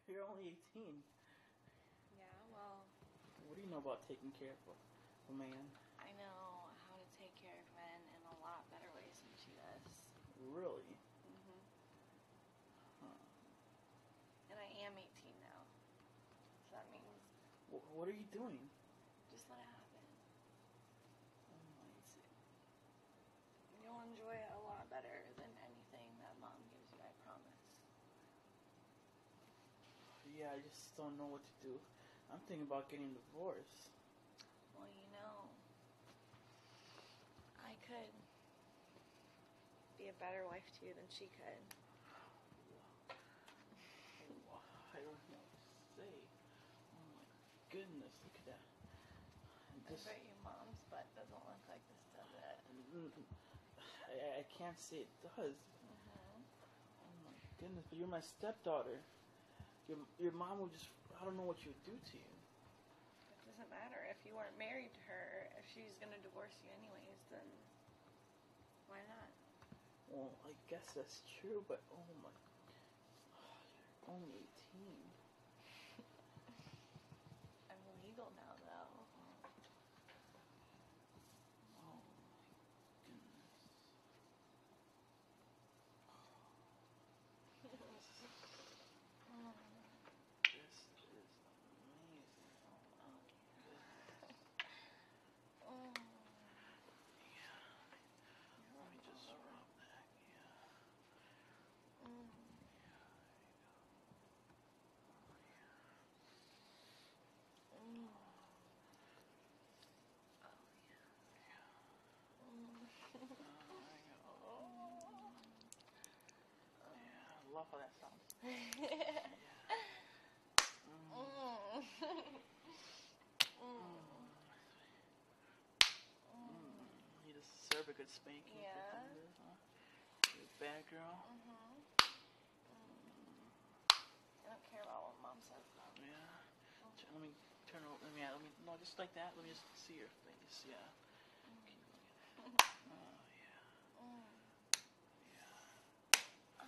You're only 18. Yeah, well... What do you know about taking care of a man? I know how to take care of men in a lot better ways than she does. Really? Mm-hmm. Huh. And I am 18 now. So that means... What are you doing? Just let it happen. Oh, You'll enjoy it a lot better than anything that Mom gives you, I promise. yeah, I just don't know what to do. I'm thinking about getting divorced. Well, I could be a better wife to you than she could. I don't know what to say. Oh my goodness, look at that. I bet your mom's butt doesn't look like this, does it? I can't say it does. Mm-hmm. Oh my goodness, but you're my stepdaughter. Your mom would just, I don't know what she would do to you. It doesn't matter. If you weren't married to her, if she's going to divorce you anyways, then why not? Well, I guess that's true, but oh my, you're only 18. I'm legal now, though. Oh my goodness. This is amazing. Oh my goodness. Oh. Yeah. Let me just rub that. Yeah. Mm. Mm. I love how that sounds. Yeah. You deserve a good spanking. Yeah. You're a bad girl. I don't care about what Mom says, though. Yeah. Let me turn over. No, just like that. Let me just see your face. Yeah. Oh, yeah. Yeah.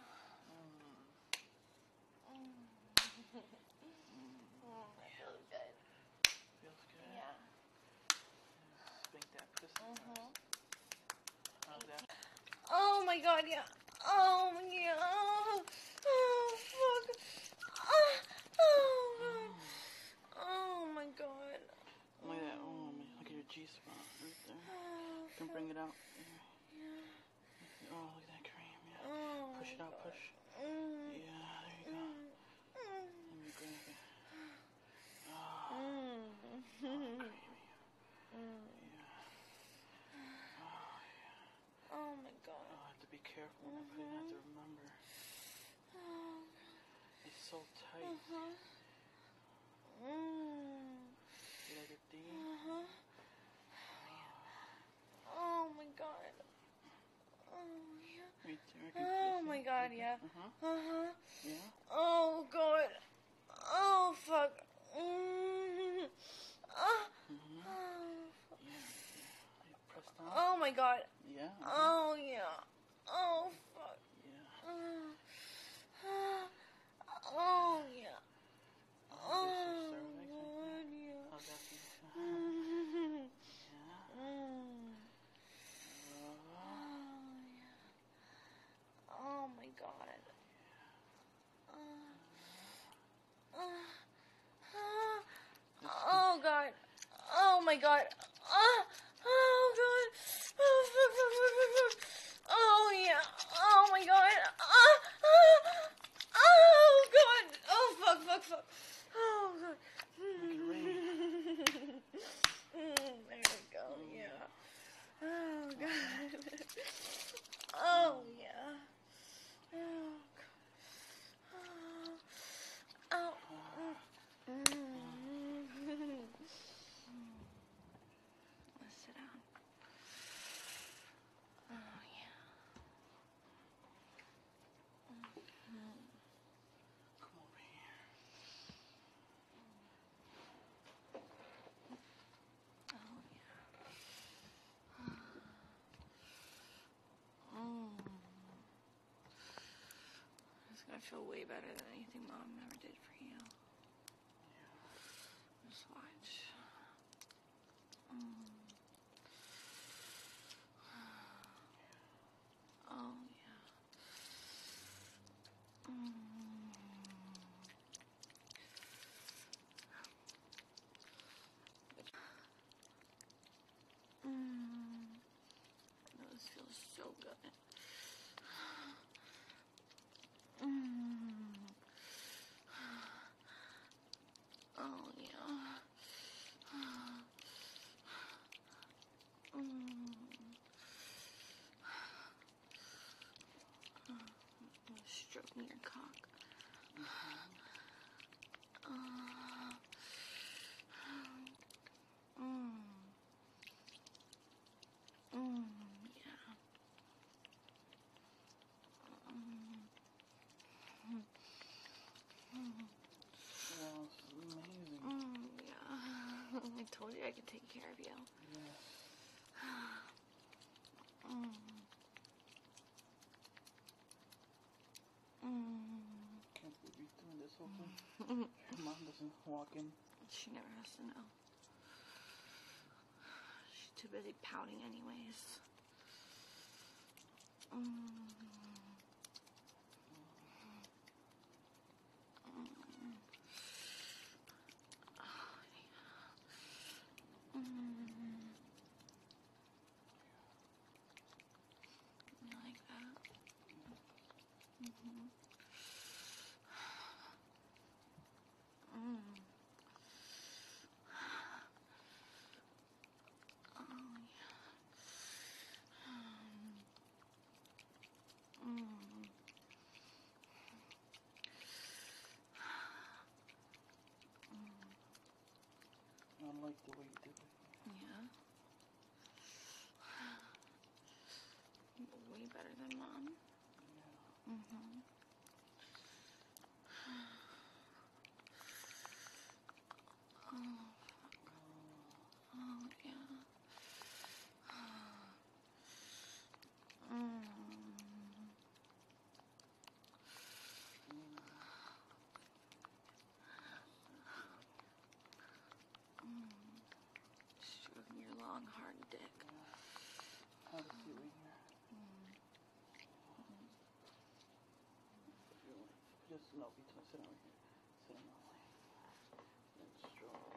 That feels good. Feels good? Yeah. Spank that pussy. How's that? Oh my god, yeah. Oh, yeah. Oh, fuck. Oh, oh my god. Look at that. Oh, man. Look at your G-spot right there. You can bring it out. Yeah. Oh, look at that cream. Yeah. Oh, push it out, God. push. Yeah, there you go. Let me grab it. Oh, creamy. Yeah. Oh, yeah. Oh my god. Oh, I have to be careful. I have to remember. Oh, It's so tight. You like your D? Oh my god. Oh yeah. Right there. Oh my god, yeah. Yeah. Oh god. Oh fuck. Yeah. Press down. Oh my god. Yeah. Oh yeah. Oh fuck. Yeah. Oh yeah. Oh, yeah. How's that feel? Yeah. Oh my god. Oh god. Oh my god. Oh god. Oh fuck. Oh yeah. Oh my god. Oh god. Oh fuck. Oh god. There we go. Yeah. Oh god. Oh yeah. Oh god. Oh. Let's sit down. Oh yeah. Come over here. Oh yeah. It's gonna feel way better than anything Mom ever did for you. Just watch. Oh, yeah. This feels so good. Oh, yeah. Stroking your cock. Yeah. Wow, this is amazing. Yeah. I told you I could take care of you. Yes. Can't believe you're doing this whole thing. Your mom doesn't walk in. She never has to know. She's too busy pouting anyways. You like that? I like the way you did it. Yeah. Way better than Mom. Yeah. Oh, yeah. Stroking your long, hard dick. How to see right here. Just no, between sit over here. Sit on my leg. And stroke.